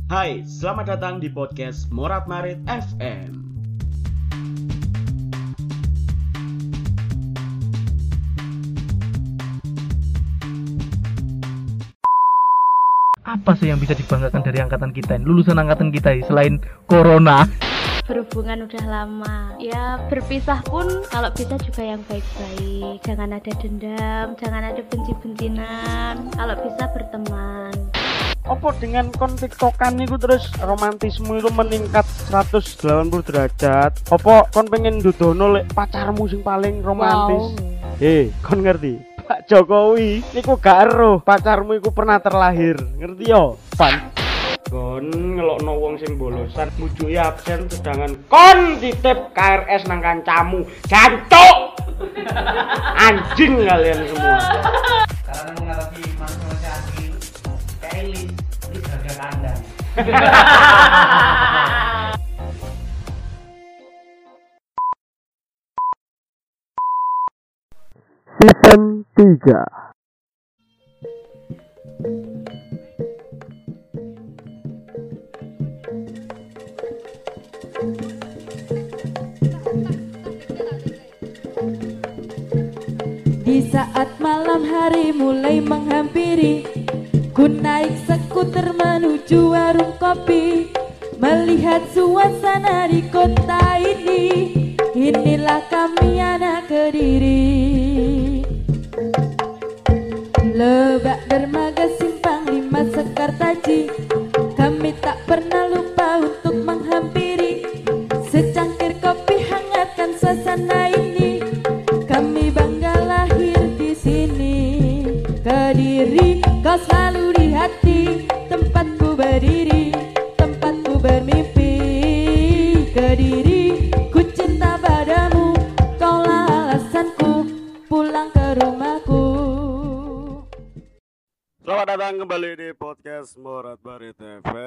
Hai, selamat datang di podcast Morat Marit FM. Apa sih yang bisa dibanggakan dari angkatan kita ini, lulusan angkatan kita ini, selain corona? Berhubungan udah lama ya, berpisah pun kalau bisa juga yang baik-baik, jangan ada dendam, jangan ada benci-bencinan, kalau bisa berteman. Apa dengan kon tiktokan niku terus romantisme itu meningkat 180 derajat? Apa kon pengen dudono lek pacarmu sing paling romantis? Kon ngerti? Pak Jokowi niku gak ero pacarmu iku pernah terlahir. Ngerti yo? Pan. Kon ngelokno wong sing bolosan mujuki absen sedangkan kon titip KRS nang kancamu. Jancuk. Anjing kalian semua. Karena menghadapi manusia asli Kailis ini harga kandang. Season 3. Di saat malam hari mulai menghampiri, ku naik skuter menuju warung kopi, melihat suasana di kota ini. Inilah kami anak Kediri, Lebak, Dermaga, Simpang 5, Sekartaji. Kami tak pernah lupa untuk menghampiri, secangkir kopi hangatkan suasana ini. Kami bangga lahir di sini. Kediri, kau selalu di hati, tempatku berdiri, tempatku bermimpi. Kediri, ku cinta padamu, kaulah alasanku pulang ke rumahku. Selamat datang kembali di podcast Morat Marit FM.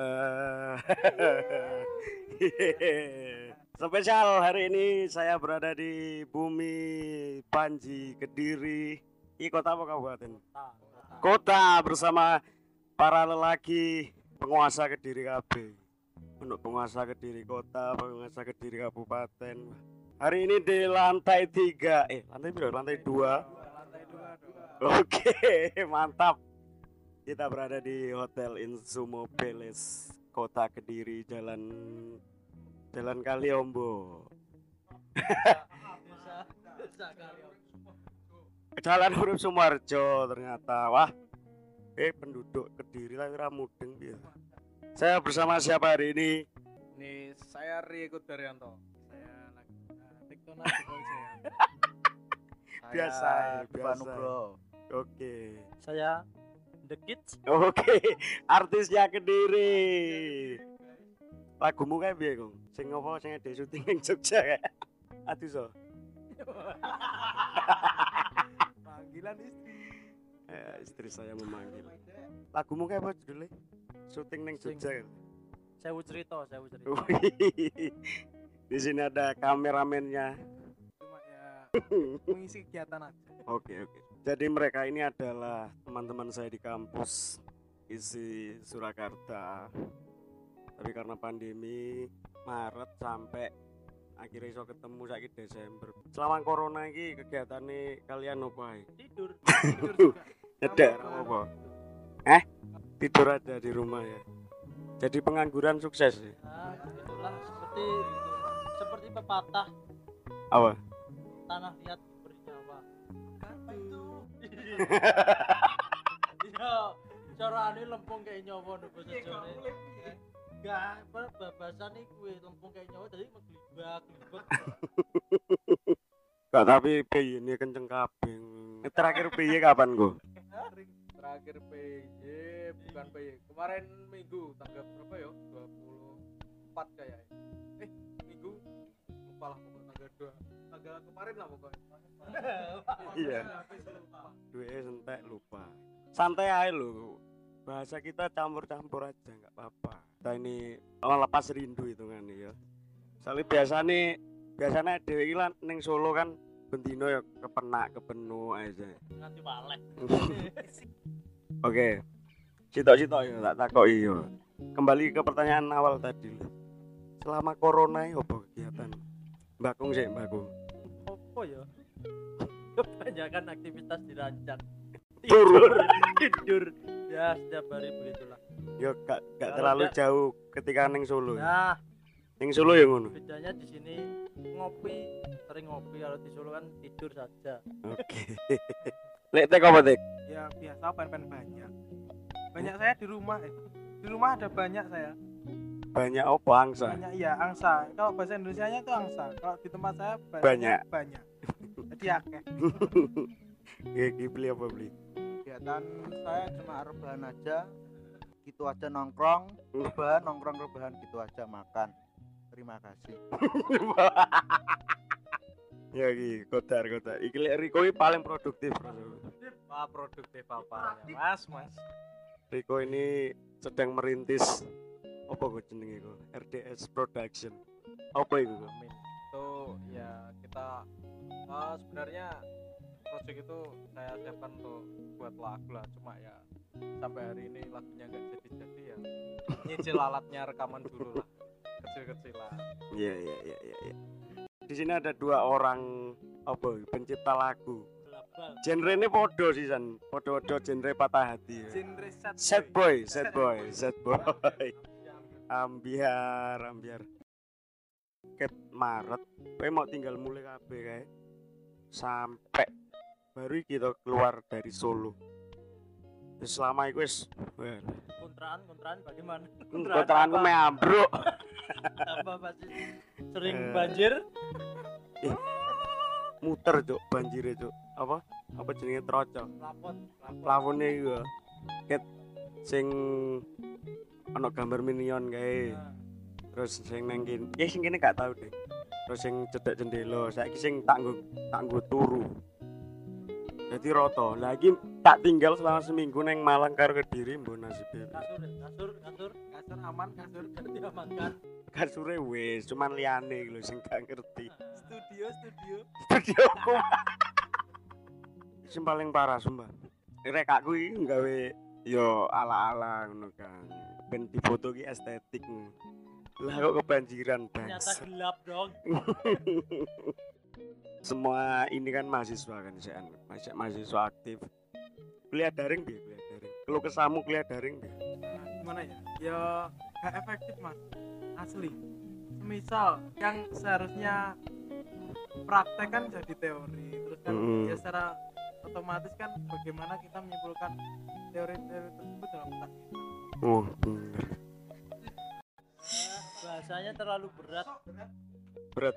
Spesial hari ini saya berada di bumi Panji, Kediri. Ini kota apa kabupaten? Kota bersama para lelaki penguasa Kediri KB. Untuk penguasa Kediri kota, penguasa Kediri kabupaten. Hari ini di lantai 3. Lantai berapa? Lantai 2. Oke, mantap. Kita berada di Hotel Insumo Palace, Kota Kediri, Jalan Kaliombo. Jalan Huruf Sumarjo ternyata. Wah. Penduduk Kediri tapi ra mudeng piye. Saya bersama siapa hari ini? Ini saya Rieko Daryanto. Saya Tiktona Jokowi saya. Biasa. Bro. Oke. Saya The Kids. Oke, artisnya Kediri. Lagumu kayak piye, Kong? Sing ngopo sing ade syuting ning Jogja kae? Aduh so. Panggilan istri. Istri saya memanggil. Lagumu kayak apa judulnya? Syuting ning Jogja. Saya cerita. Di sini ada kameramennya. Cuma ya mengisi kegiatan aja. Oke. Jadi mereka ini adalah teman-teman saya di kampus isi Surakarta. Tapi karena pandemi Maret sampai akhirnya iso ketemu saiki Desember. Selama corona iki kegiatane kalian opo ae? Tidur juga. Nyedek apa? Tidur aja di rumah ya. Jadi pengangguran sukses ya. Nah, itulah seperti pepatah Apa? tanah liat bernyawa. Apa itu? Iya, carane lempung kayak nyawa nek basa Jawa. Enggak, babasane kuwi lempung kayak nyawa dadi meglibak. Gak, tapi piye ini kenceng kabeh. Terakhir piye kapan go? Terakhir PJ bukan PJ. Kemarin Minggu tanggal berapa ya? 24 kayaknya. Minggu lupa lah pokoknya tanggal 2. Tanggal kemarin lah pokoknya. Iya. Duwe entek lupa. Santai aja lho. Bahasa kita campur-campur aja enggak apa-apa. Kita ini lepas rindu hitungannya ya. Soalnya biasanya dhewe iki lan ning Solo kan bendino ya kepenak kepenu aja. Nganti walek. Oke. Sitok-sitok ya tak takoki yo. kembali ke pertanyaan awal tadi. Selama corona ini apa kegiatan? Mbakung sih, Mbakung. Apa ya? Kebanyakan aktivitas dirancang. Tidur. Tidur. Ya setiap hari begitulah. Ya gak Kalau terlalu enggak- jauh ketika ning Solo. Nah, Ning Solo ya ngono. bedanya di sini ngopi, sering ngopi. Kalau di Solo kan tidur saja. Oke. Lek tek apa tek? Ya biasa pen banyak. Banyak saya di rumah. Di rumah ada banyak saya. Banyak apa angsa? Banyak iya angsa. Kalau bahasa Indonesianya itu angsa. Kalau di tempat saya Banyak. Banyak. Jadi akeh. Ya beli apa beli? Kegiatan saya cuma rebahan aja, gitu aja nongkrong, rebahan gitu aja makan. Terima kasih. Ya iki kotar. Iki lek Riko iki paling produktif. Wah, produktif apanya, Mas? Riko ini sedang merintis apa kok jenenge kok? RDS Production. Apa itu kok? Amin. Itu ya kita sebenarnya project itu saya siapkan untuk buat lagu lah, cuma ya sampai hari ini lagunya nggak jadi ya nyicil alatnya rekaman dulu lah, kecil-kecilan. Iya. Di sini ada 2 orang apa pencipta lagu. Genre-ne podo sih San. Podo-podo genre patah hati. Ya. Genre Sad boy. Ambiar. Ket Maret, kowe mau tinggal mulai kabeh kae. Sampai baru kita keluar dari Solo. Terus selama itu wis Kontraan bagaimana? kontrakanku me ambruk. Apa pasti sering banjir? Muter cuk banjire cuk. Apa jenenge troco. Plafone iku. Ket sing ana gambar minion kae. Terus sing nang kene, sing kene gak tau deh. Terus sing cedek jendela, saiki sing tak nggo turu. Jadi roto. Lagi tak tinggal selama seminggu neng Malang karo Kediri mbok nasibe. Kasur aman, kasur diamankan. Kasure wis, cuman liyane lho sing gak ngerti. Studio. Studioku. Sing paling parah sumpah. Rek aku iki nggawe yo ala-ala ngono kan. Ben difoto ki estetik. Lah kok kebanjiran Ternyata bangsa. gelap dong. Semua ini kan mahasiswa kan sean. Mahasiswa aktif. Kuliah daring piye kuliah daring? Kalau kesamu kuliah daring piye? Gimana ya? Ya gak efektif mas. Asli. Semisal yang seharusnya praktek kan jadi teori. Terus kan ya secara otomatis kan bagaimana kita menyimpulkan teori-teori tersebut dalam otak kita. Oh, bener. Bahasanya terlalu berat. Berat.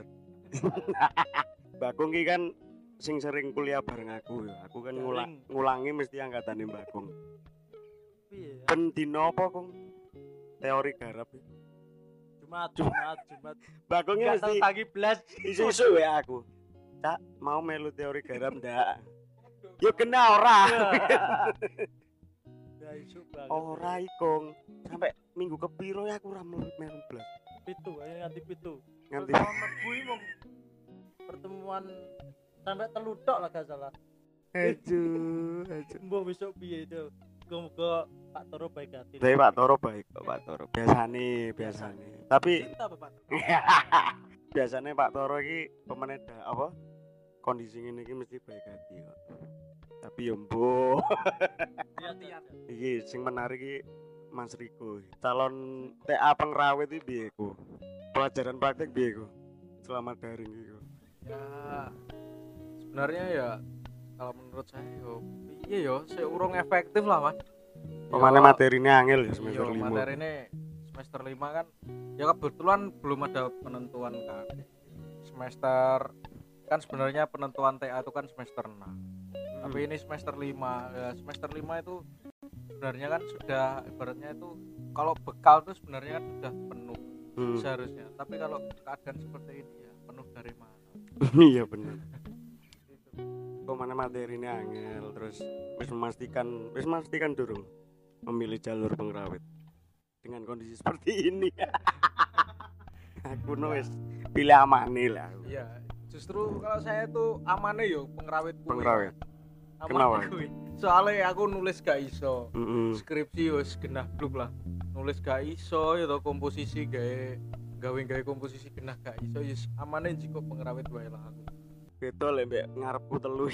Bakung ki kan sing sering kuliah bareng aku ya. Aku kan ngulangi mesti angkatane Bakung. Piye ya? Ben dino apa, Kung? Teori garap. Jumat. Bakung ki Enggak mesti tahu tagi blas. isu-isu ya aku. Cak, mau melu teori garap ndak? Yo kena ora. Ya isu banget. Ora ikung. Sampai minggu kepiro ya aku ora melu blas. Pitu, ayo nganti pitu. Nganti Gue mau pertemuan sampai teludok lah gak salah. aduh. Mbok besok piye itu? Muga Pak Toro baik hati. Tapi Pak Toro baik kok Pak Toro. Biasane. Tapi Cinta Bapak. biasanya Pak Toro iki pemeneda apa? Kondisi ngene iki mesti baik hati kok. Tapi yo mbok. Iki sing menarik iki Mas Riko. Calon TA pengrawit iki piye ku? Pelajaran praktek piye ku? Selama daring iki. Ya sebenarnya ya kalau menurut saya iya yo seurung efektif lah mas. Pemane materinya angel ya semester 5. Materi ini semester 5 kan ya kebetulan belum ada penentuan kan. Semester kan sebenarnya penentuan TA itu kan semester 6. Tapi ini semester 5. Ya, semester 5 itu sebenarnya kan sudah ibaratnya itu kalau bekal itu sebenarnya kan sudah penuh seharusnya. Tapi kalau keadaan seperti ini ya penuh dari mana? Iya benar. Pemane materinya angel terus wis memastikan durung memilih jalur pengrawit dengan kondisi seperti ini. Aku wis pilih amane lah. Iya, justru kalau saya tuh amane yo pengrawit. Pengrawit. Amane Kenapa? kuwi. Soalnya aku nulis gak iso. Heeh. Skripsi wis genah bluk lah. nulis gak iso ya to komposisi gawe komposisi genah gak iso ya amane jiko pengrawit wae lah aku. Beda lek mbek ngarepku telu.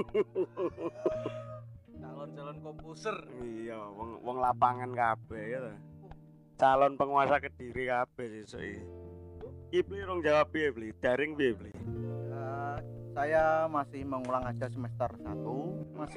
Calon komposer. Iya, wong lapangan kabeh ya to. Calon penguasa Kediri kabeh sesuk iki. Iki Bli rong jawab piye Bli? Daring piye Bli? Saya masih mengulang aja semester 1, masih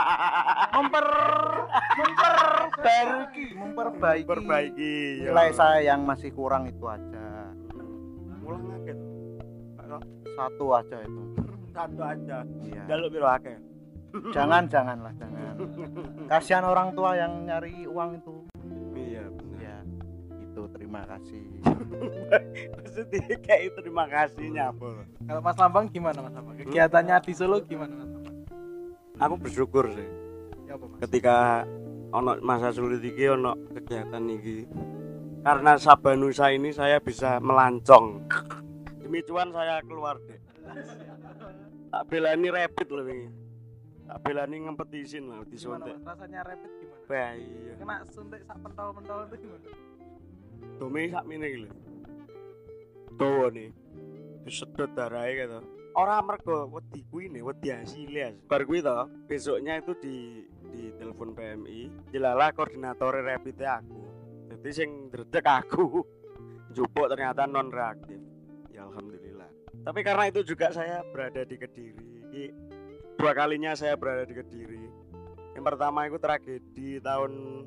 memperbaiki nilai saya yang masih kurang itu aja. Mulang akeh. Satu aja itu. Satu aja. Iya. Jaluk piro akeh? Jangan. Kasihan orang tua yang nyari uang itu. Iya, bener. Ya, itu terima kasih. Maksudnya kayak terima kasihnya apa? Kalau Mas Lambang gimana Mas Lambang? Kegiatannya di Solo gimana Mas Lambang? Aku bersyukur sih. Ya apa Mas? Ketika ono masa sulit iki ono kegiatan iki. Karena Sabanusa ini saya bisa melancong. Demi cuan saya keluar deh. Tak belani rapid loh ini. Tak belani ngempetisin lah disuntik. Gimana Mas? Rasanya rapid gimana? Wah iya. Kena suntik sak pentol-pentol itu gimana? Domi sak mene iki lho. Tuh nih. Disedot darahe gitu. Ora mergo wedi kuwi ne, wedi hasilnya. Bar kuwi to, besoknya itu di telepon PMI, jelalah koordinator rapid aku. Jadi sing dredeg aku. Jupuk ternyata non reaktif. Ya alhamdulillah. Tapi karena itu juga saya berada di Kediri. Ini dua kalinya saya berada di Kediri. Yang pertama itu tragedi tahun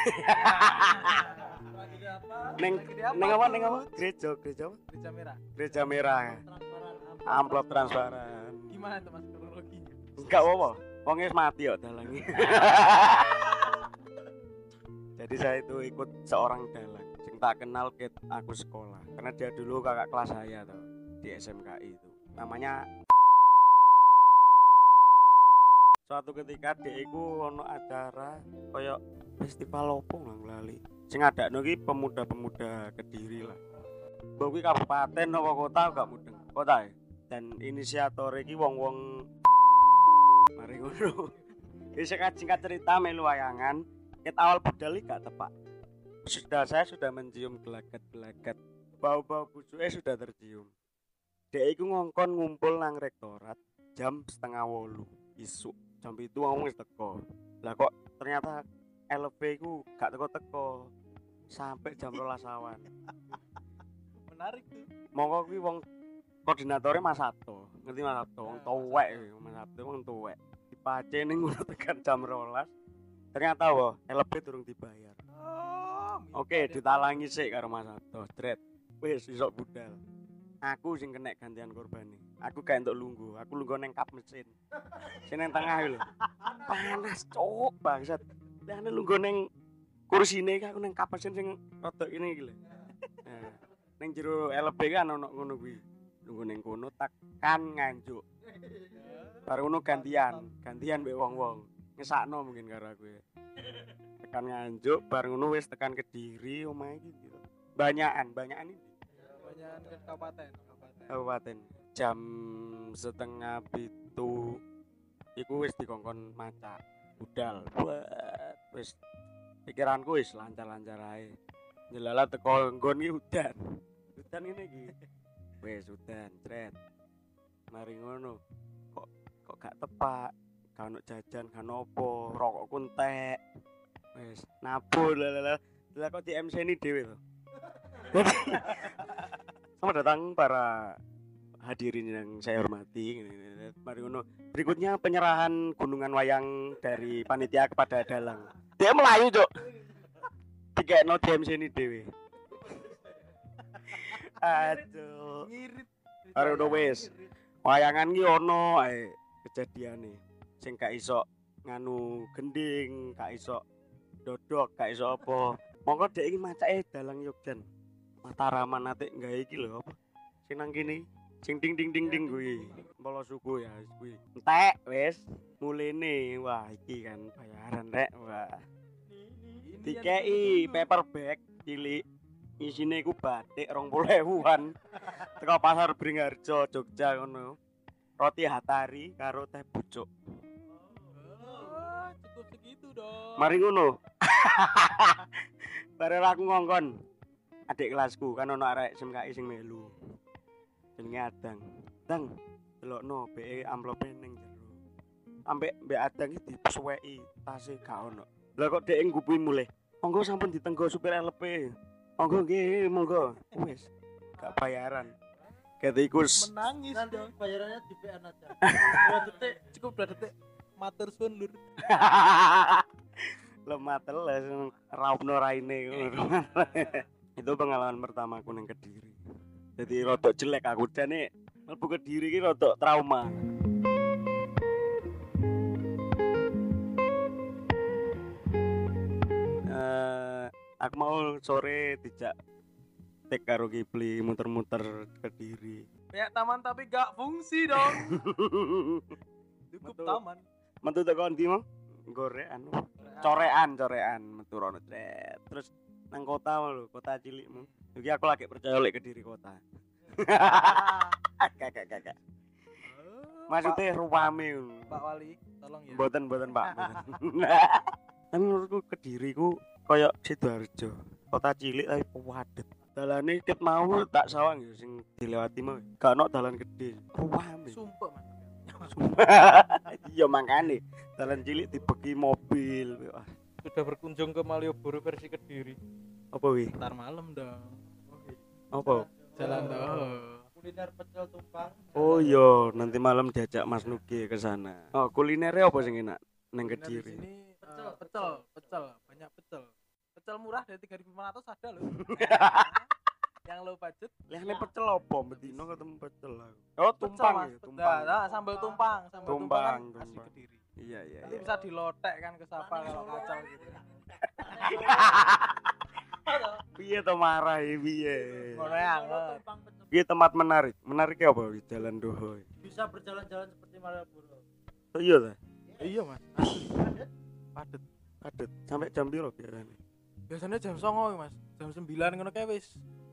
Neng apa? Gereja Merah. Gereja Merah. Amplop transparan. Gimana tuh Mas kronologinya? Enggak apa-apa. Wong wis mati kok dalange. Jadi saya itu ikut seorang dalang sing tak kenal ket aku sekolah. Karena dia dulu kakak kelas saya tuh di SMKI itu. Namanya suatu ketika dia iku ono acara koyo festival opo nang lali. Sing adakno iki pemuda-pemuda Kediri lah. Mbok kuwi kabupaten apa kota gak mudeng. Kota ya. Dan inisiator iki wong-wong mari ngono. Wis singkat cerita melu wayangan, ket awal budal iki gak tepak. Saya sudah mencium gelagat-gelagat. Bau-bau busuke sudah tercium. Dek iku ngongkon ngumpul nang rektorat jam 6:30 isuk. Jam itu wong wis teko. Lah kok ternyata LB ku gak teko-teko sampai jam 12 awan. Menarik tuh. Monggo kuwi wong koordinatornya Mas Sabto. Ngerti Mas Sabto? Wong tuwek Mas Sabto wong tuwek. Dipace ning ngono tekan jam 12. Ternyata wah, LB durung dibayar. Oke, ditalangi sik karo Mas Sabto. Jret. Wis isok budal. Aku sing kena gantian korbane. Aku gak entuk lungguh. Aku lungguh neng kap mesin. Sing nang tengah lho. Panas cuk bangsat. Lah lungguh neng kursine aku neng kap mesin sing rodok ini iki lho. Nah, ning jero LB kan ono ngono kuwi. Lungguh neng kono tekan nganjuk. Bar ngono gantian mbek wong-wong. Ngesakno mungkin karo aku ya. Tekan nganjuk bar ngono wis tekan Kediri omahe iki gitu. Banyakan ini. Kabupaten jam 6:30 iku wis dikongkon macak budal buat wis pikiranku wis lancar-lancar ae jelala teko nggon iki udan ngene iki wis udan cret mari ngono kok gak tepak gak ono jajan gak opo rokokku entek wis nabur lah kok di MC ini dhewe to. Selamat datang para hadirin yang saya hormati. Mari ngono. Berikutnya penyerahan gunungan wayang dari panitia kepada dalang. Dia melayu, Cuk. Dikekno DMC ini dhewe. Aduh. Ngirit. Karo wis. Wayangan ki ono ae kejadiane. Sing gak iso nganu gending, gak iso dodok, gak iso apa. Monggo dhek iki macake dalang Yogyan. Mataraman ate gawe iki lho apa? Sing nang kene, sing ding kuwi. Polo suku ya kuwi. Entek wis mulene. Wah, iki kan bayaran rek. Wah. Dikei paperback cilik. Isine iku batik 20.000-an. Teko pasar Bringharjo, Jogja ngono. Roti Hatari karo teh pucuk. Cukup segitu dong. Mari ngono. Bareng aku ngongkon. Adik kelasku kan ono arek SMKI sing melu. Jenenge Adang. Dang, delokno BE amplope ning jero. Ambek mbek Adang iki disuweki tase gak ono. Lah kok dhek nggupi mulih. Monggo sampun ditenggo supir LP. Monggo nggih, monggo. Wis gak bayaran. Ketikus Menangis dong. Bayarannya di PN aja. 2 detik, cukup 2 detik. Matur suwun lur. lemah teles raupno raine ngono. Itu pengalaman pertama aku ning Kediri. Jadi rodok jelek aku jane mlebu Kediri iki rodok trauma. Aku mau sore dijak tek karo Kipli muter-muter Kediri. Kayak taman tapi gak fungsi dong. Cukup Betul. taman. Metu teko ndi mau? Gorean. Corean metu rono tret. Terus nang kota lho, kota cilikmu. Iki aku lagi percaya lek Kediri kota. Kakak. Maksudnya ruame. Pak Wali, tolong ya. Mboten Pak. Tapi menurutku Kediri ku koyo Sidoarjo. Kota cilik tapi padet. Dalane ket mau tak sawang ya sing dilewati mau. Gak ono dalan gede. Ruame. Sumpah Mas. Iya makane dalan cilik dibeki mobil. Wah, Sudah berkunjung ke Malioboro versi Kediri. apa wi? Ntar malam dong. Apa? Jalan dong. Kuliner pecel tumpang. Oh iya, nanti malam diajak Mas Nugi ke sana. Oh, kulinernya apa sing enak nang Kuliner di Kediri? sini pecel, banyak pecel. Pecel murah dari 3.500 ada loh. Yang low budget. Lehne pecel apa? Bedino ketemu pecel aku. Oh, tumpang Mas. ya, tumpang. Nah, sambal tumpang kan Tumpang. asli Kediri. Iya. Nanti bisa dilotek kan ke Sapa kalau kacau gitu. Piye to marah piye? Ngono ya. Piye tempat menarik? Menariknya apa wi? Jalan Doho. Bisa berjalan-jalan seperti Malioboro. Oh iya ta? Iya Mas. Padet. Padet. Sampai jam piro biasanya? Biasanya jam 09.00 Mas. Jam 9 ngono kae wis.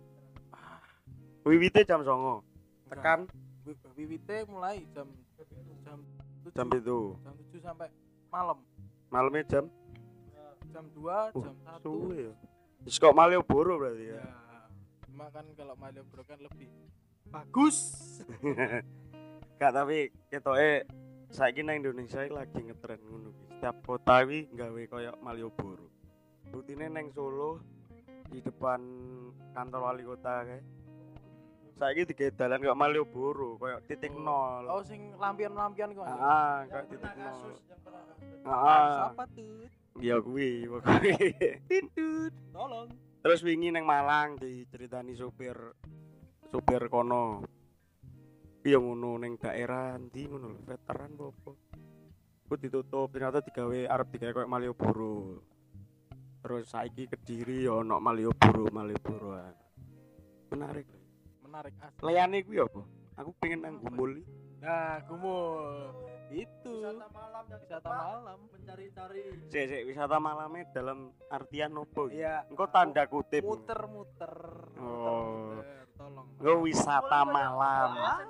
Wiwite jam 09.00. Tekan Wiwite mulai jam 7. jam itu. Jam 7 sampai malam. Malamnya jam Jam 2, jam 1. suwe ya. Wis kok Malioboro berarti ya. Ya. Cuma kan kalau Malioboro kan lebih bagus. Gak tapi ketoke saiki nang Indonesia iki lagi ngetren ngono ki. Setiap kota iki gawe koyo Malioboro. Rutine nang Solo di depan kantor wali kota kae. Saiki digawe dalan koyo Malioboro, koyo titik nol. Oh sing lampion-lampion kok. Kayak titik nol. Siapa tuh? Ya kuwi pokoke. Titut. Tolong. Terus wingi nang Malang diceritani supir kono. Iya ngono ning daerah ndi ngono lho, veteran apa. Ku ditutup ternyata arep digawe koyo Malioboro. Terus saiki Kediri ya ono Malioboro-an. Menarik. Asli. Leyane kuwi apa? Aku pengen nang Gumul. Nah, Gumul. Itu Wisata malam mencari-cari. Sik wisata malamnya dalam artian opo? Iya. Engko tanda kutip. Muter-muter. Oh. Tolong. Engko wisata malam.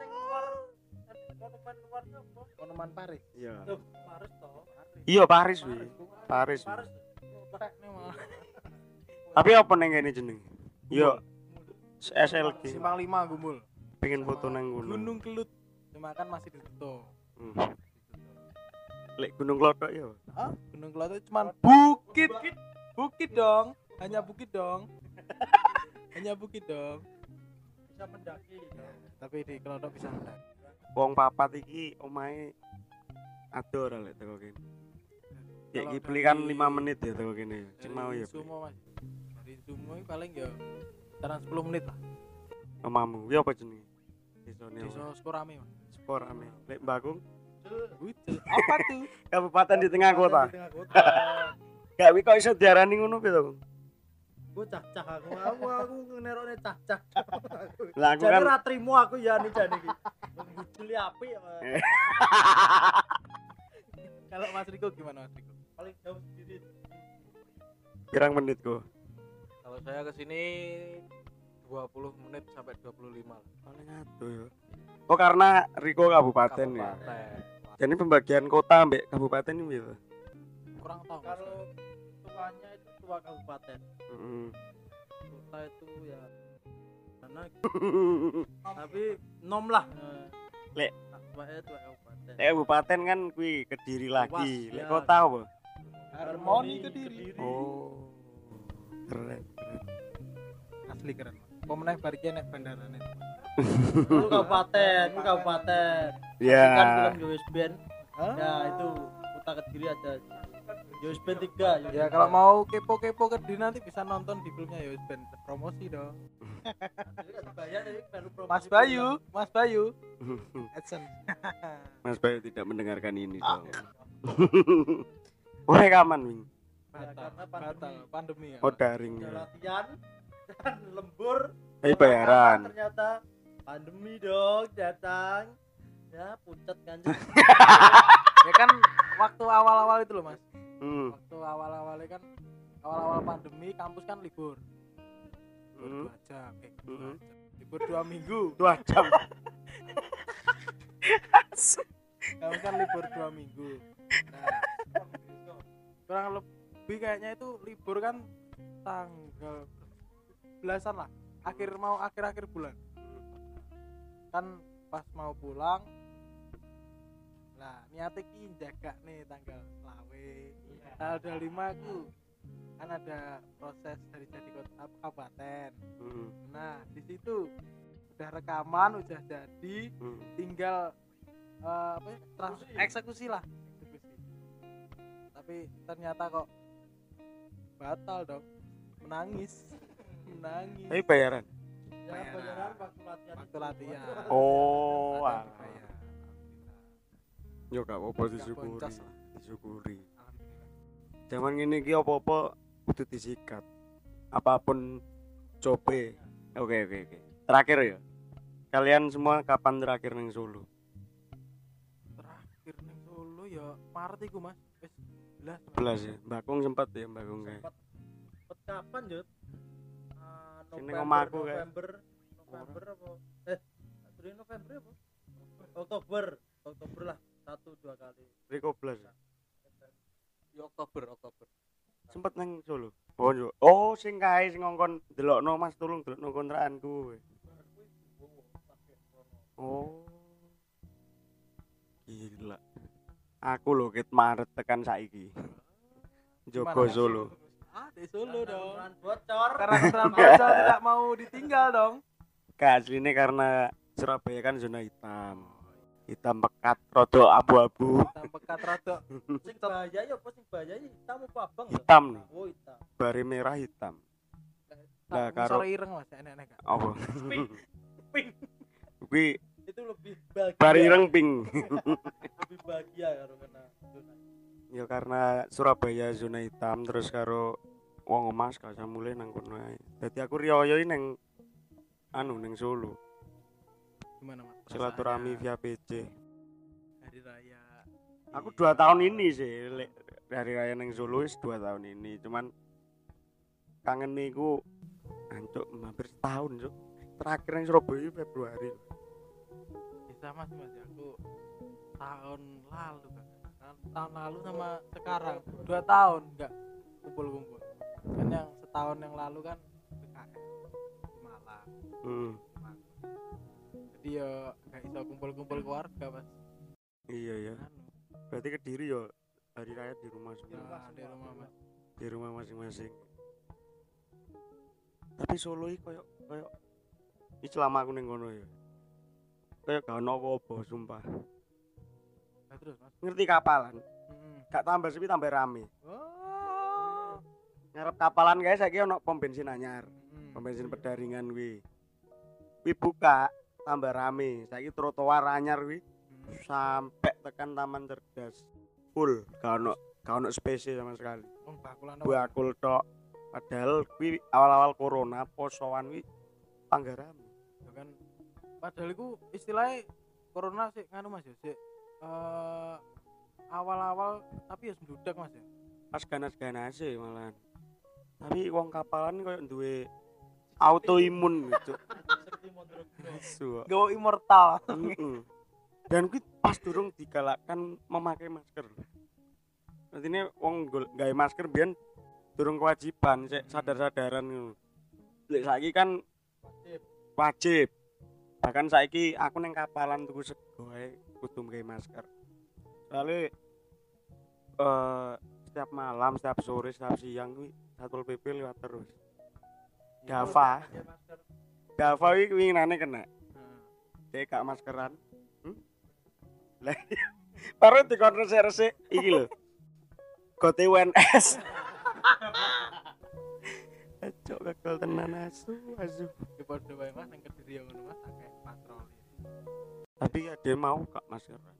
Monumen Paris. Iya. Paris toh. Iya Paris wi. Paris. Tapi apa nang kene jeneng? Yo SLG. Simpang 5 Gumul. Pengen foto nang gunung. Gunung Kelut. Cuma kan masih ditutup. Lek Gunung Klothok ya. Ah, Gunung Kelut itu cuma bukit. Bukit dong. Hanya bukit dong. Hanya bukit dong. Bisa mendaki. Tapi di Kelotok bisa mendaki. Wong papat iki omahe ado ora lek teko kene. Ya Kalau iki beli kan dari- 5 menit ya teko kene. Sing mau ya. Sumo Mas. Dari Sumo ini paling ya sekarang 10 menit lah. Omamu, ya apa jenenge? Desone. Desa Skorame Mas. Sporame. Lek Mbakung, Bucel. Apa tuh? kabupaten di tengah kota. Di tengah kota. Gak wi kok iso diarani ngono piye to? Gue cah-cah aku ngerokne cah-cah. Lah aku Jadi kan ra trimo aku ya nih jane iki. Bujuli apik ya. Kalau Mas Riko gimana Mas Riko? Paling jauh sendiri. pirang menit kok. Kalau saya ke sini 20 menit sampai 25 lah. Paling ado ya. Oh karena Riko kabupaten ya. Kabupaten. Jadi pembagian kota ambek kabupaten ini piye to? Kurang tahu. Mas. Kalau tuanya itu tua kabupaten. Heeh. Kota itu ya karena tapi nom lah. Lek. Tuanya tua kabupaten. Kabupaten kan kuwi Kediri lagi. Luas, Lek ya. kota apa? Harmoni Kediri. Oh. Keren. Asli keren. Pemenang bariki nek bandarane. Itu kabupaten. Ya. Kan film Joyce Band. Ya itu kota Kediri ada Joyce Band 3. Ya kalau mau kepo-kepo Kediri nanti bisa nonton di filmnya Joyce Band. Promosi dong. Mas Bayu. Adsense. Mas Bayu tidak mendengarkan ini dong. Wah, kaman, Wing. Batal pandemi ya. Oh, daring ya. Latihan dan lembur. Bayaran. Ternyata pandemi dong datang. Ya pucat kan. Ya kan waktu awal-awal itu loh Mas. Waktu awal-awalnya kan awal-awal pandemi kampus kan libur. Libur 2 jam. Libur 2 minggu. 2 jam. Kampus kan libur 2 minggu. Nah, kurang lebih kayaknya itu libur kan tanggal belasan lah. Akhir bulan. Kan pas mau pulang nah niatnya ki jaga nih tanggal selawe tanggal 25 aku kan ada proses dari jadi kota kabupaten. Nah di situ udah rekaman udah jadi tinggal eksekusi lah tapi ternyata kok batal dong menangis Tapi bayaran. Bayaran waktu latihan. Oh, Ada alah. dibayar. Yo gak apa-apa Gak disyukuri. boncos lah. Disyukuri. Alhamdulillah. Zaman ini ki apa-apa kudu disikat. Apapun cobe. Oke. Terakhir ya. Kalian semua kapan terakhir neng Solo? Terakhir ning Solo ya Maret iku Mas. Wis 11 ya. Mbakung sempat ya Mbakung kayak. Sempat kapan, Jut? Sini ngomahku, guys. November apa? November apa? Oktober lah 1-2 kali. Riko 11 ya. Di Oktober. Sempet neng Solo. Oh, yo. Oh, sing kae sing ngongkon delokno Mas tulung delokno kontrakanku. Oh. Gila. Aku lho ket Maret tekan saiki. Jogo Gimana? Solo. Di Solo dong. Bocor. Karena keterangan bocor tidak mau ditinggal dong. Aslinya karena Surabaya kan zona hitam. Hitam pekat, rodo abu-abu. Hitam pekat rada. Sing bahaya ya apa sing bahaya hitam apa abang? ya? Hitam nih. Oh, hitam. Bari merah hitam. Lah Nah, karo sore ireng Mas, enek-enek gak? apa? Pink. Kuwi Itu lebih bahagia. bari ireng pink. Lebih bahagia kalau kena zona. Ya karena Surabaya zona hitam terus karo wong emas gak usah mulai nang kono ae. Dadi aku riyo neng neng Solo. Gimana Mas? Silaturahmi Perasaannya via PC. hari raya. Aku 2 tahun ini sih dari raya neng Solo wis 2 tahun ini. Cuman kangen niku ancuk hampir setahun, Cuk. Terakhir neng Surabaya Februari. Bisa Mas ya aku tahun lalu kan. Tahun lalu sama sekarang 2 tahun enggak kumpul-kumpul. Kan yang setahun yang lalu kan PKL di Malang. Jadi ya enggak bisa kumpul-kumpul keluarga Mas. Iya ya. Anu, Berarti Kediri ya hari raya di rumah semua. ya, di rumah Mas. Di rumah masing-masing. Tapi Solo iki koyo iki selama aku ning kono ya. Kayak gak ono apa-apa sumpah. Nah, terus Mas. Ngerti kapalan? Heeh. Gak tambah sepi tambah rame. Oh. Ngarep kapalan guys saiki ono pom bensin anyar. Mm. Pom bensin Pedaringan kuwi. Kuwi buka tambah rame. Saiki trotoar anyar kuwi sampai tekan Taman Cerdas. Full, gak ono spesies sama sekali. Wong bakulan Bakul tok. Padahal kuwi awal-awal corona posoan kuwi panggaramu. kan. Padahal iku istilahnya corona sih nganu Mas ya, sik awal-awal tapi ya sendudak Mas ya. Pas ganas-ganas malahan. Tapi wong kapalan koyo duwe autoimun gitu. Suwe. Gawa immortal. Dan kuwi pas durung digalakkan memakai masker. Artinya wong gawe masker biyen durung kewajiban, sik sadar-sadaran ngono. Lek saiki kan wajib. Bahkan saiki aku neng kapalan tuku sego ae kudu nggae masker. Soale setiap malam, setiap sore, setiap siang kuwi Satpol PP lewat terus. Dava iki winginane kena. Dek gak maskeran. Lah baru dikon resik-resik iki lho. Gote UNS. Cok gagal tenan asu. Ki padha wae Mas nang Kediri ngono Mas akeh patroli. Tapi ada mau gak maskeran.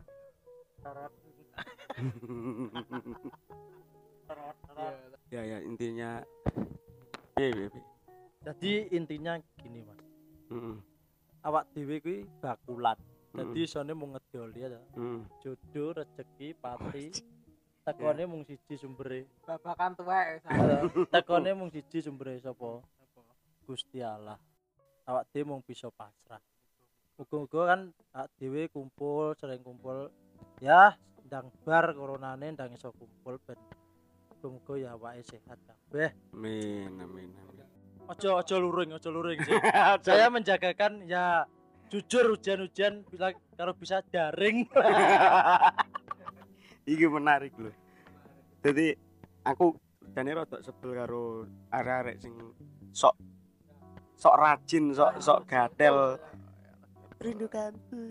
Ya intinya piye. Jadi intinya gini Mas. Awak dhewe kuwi bakulan. Jadi isone mung ngedol ya. Jodoh, rezeki, pati. Tekone mung siji sumbere. Babakan tuwek. Tekone mung siji sumbere sapa? Gusti Allah. Awak dhewe mung bisa pasrah. Muga-muga kan awak dhewe kumpul, sering kumpul. Ya, ndang bar coronane ndang iso kumpul ben muga-muga ya awake sehat kabeh. Amin. Ojo luring sih. Saya menjagakan ya jujur hujan-hujan bila kalau bisa daring. Iki menarik lho. Jadi aku jane rada sebel karo arek-arek sing sok rajin, sok gatel. Rindu kampus.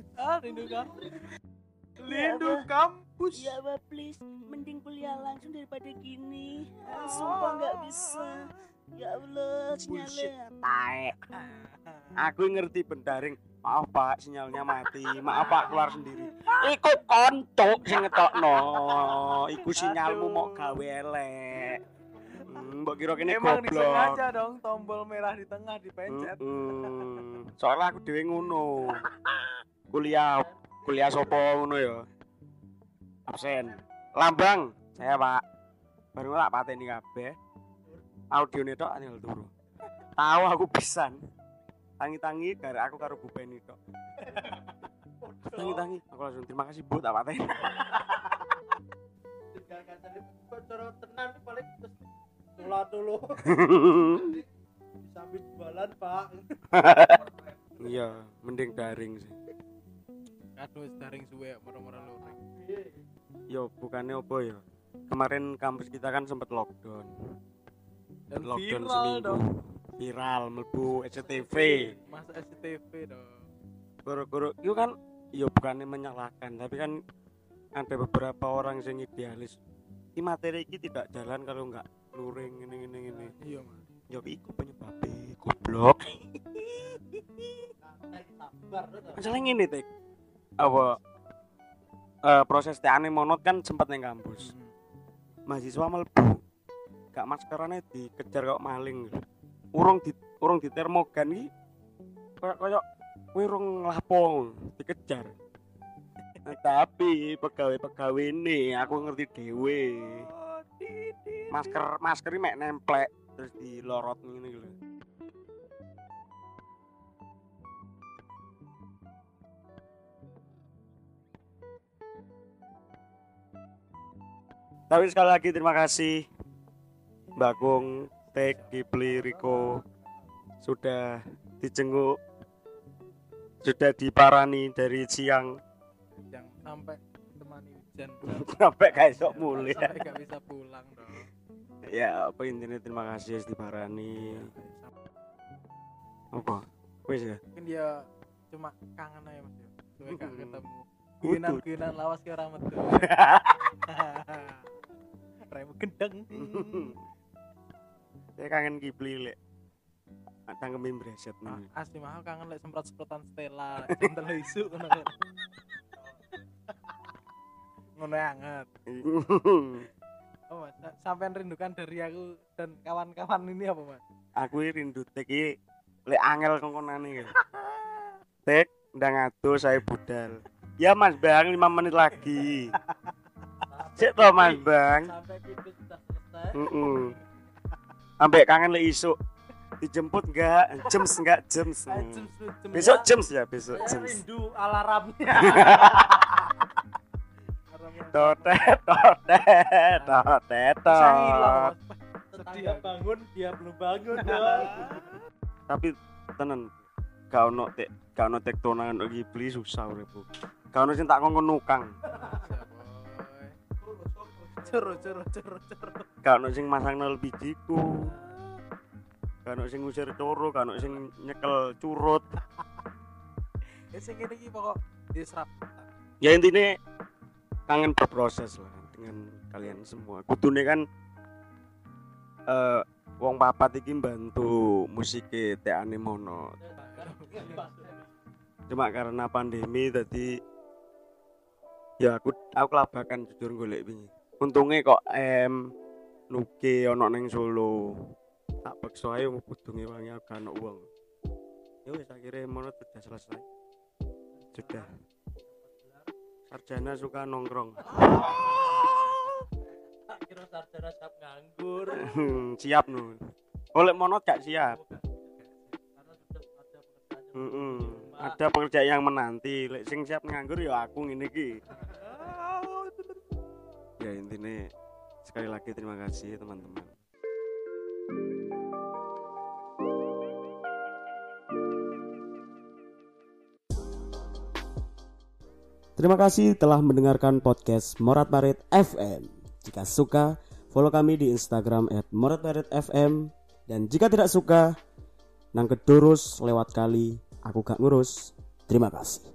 Rindu kampus. Ya Mbak please, mending kuliah langsung daripada gini. Sumpah nggak bisa. Ya Allah, sinyalnya Taek. Aku ngerti bendaring. Maaf Pak, sinyalnya mati. Maaf Pak, keluar sendiri. Iku kontok sing ngetokno. Iku sinyalmu mau gawe elek. Mbok kira kene Emang goblok. disengaja dong tombol merah di tengah dipencet. Soalnya aku dhewe ngono. Kuliah sopo ngono ya. Absen. Lambang, saya Pak. Baru tak pateni kabeh. Audione tok tinggal turu. Tahu aku pisan. Tangi-tangi gara aku karo Bu Penny tok. Tangi-tangi aku langsung terima kasih Bu tak pateni. Tinggal kancane bocor tenan paling terus dulu. Sambil jualan, Pak. Iya, mending daring sih. Aduh, daring suwe moro-moro luring. Yo bukannya apa ya. Kemarin kampus kita kan sempat lockdown. Dan Lockdown viral seminggu. dong. Viral mlebu SCTV. Mas SCTV dong. Guru-guru itu kan ya bukannya menyalahkan, tapi kan ada beberapa orang yang idealis. Ini materi ini tidak jalan kalau enggak luring ini. Iya, Mas. Ya iku penyebabnya goblok. Masalah ngene Tek. Apa proses TA-ne monot kan sempat nang kampus. Mahasiswa mlebu. Gak maskerane dikejar kok maling. Urung di termogan iki koyo kowe urung nglapo dikejar. Nah, tapi pegawai ini aku ngerti dhewe. Masker mek nemplek terus dilorot ngene lho. Tapi sekali lagi terima kasih Mbak Kung, Tek, Kipli, Riko sudah dijenguk, sudah diparani dari siang Yang sampai temani hujan. sampai gak esok mulai. Sampai gak bisa pulang dong. Ya apa intinya terima kasih wis diparani. Apa? Wis ya. Mungkin dia cuma kangen aja Mas ya. Suwe gak ketemu. Ginan lawas ke orang metu. Remu gendeng. Saya kangen Kipli lek. Tangkeme breset nih. Asli mahal kangen lek semprot-semprotan Stella, centel isu ngono. Ngono anget. Oh, Mas, sampean rindukan dari aku dan kawan-kawan ini apa, Mas? Aku rindu Tek iki lek angel kongkonane iki. Tek ndang ado saya budal. Ya Mas Bang 5 menit lagi. Sik to Mas Bang. Sampai itu sudah selesai. Ambek kangen lek isuk. Dijemput enggak? Jems. Besok jems ya, besok Saya jems. rindu alarmnya. Totet. Saya hilang, Mas. tetangga bangun dia belum bangun. Tapi tenan gak ono tektonan kok Ghibli susah uripku. Gak ono sing tak kongkon nukang. Curu. Gak ono sing masangno LPG-ku. Gak ono sing ngusir coro, gak ono sing nyekel curut. Sing ngene iki pokok diserap. Ya intinya kangen berproses lah dengan kalian semua. Kudune kan wong papat iki bantu musike tekane mono. Cuma karena pandemi tadi ya aku kelabakan jujur golek wingi. Untunge kok Nuke ono ning Solo. Tak paksa ae kudune wangi agak ono wong. Ya wis akhirnya mono sudah selesai. Sudah. Sarjana suka nongkrong. Tak kira sarjana siap nganggur. Siap nu. Oleh mono gak siap. Karena sudah ada pekerjaan. Ada pekerjaan yang menanti. Lek sing siap nganggur ya aku ngene iki. Ya intinya sekali lagi terima kasih teman-teman. Terima kasih telah mendengarkan podcast Morat Marit FM. Jika suka, follow kami di Instagram @moratmaritfm. Dan jika tidak suka, nang kedurus lewat kali, aku gak ngurus. Terima kasih.